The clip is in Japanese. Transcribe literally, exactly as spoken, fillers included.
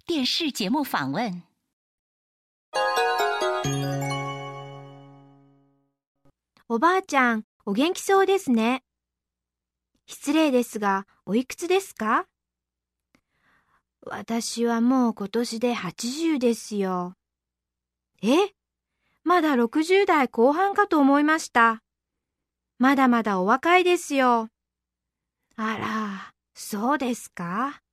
电视节目访问。 おばあちゃん、お元気そうですね。失礼ですが、おいくつですか？私はもう今年ではちじゅうですよ。え？まだろくじゅう代後半かと思いました。まだまだお若いですよ。あら、そうですか。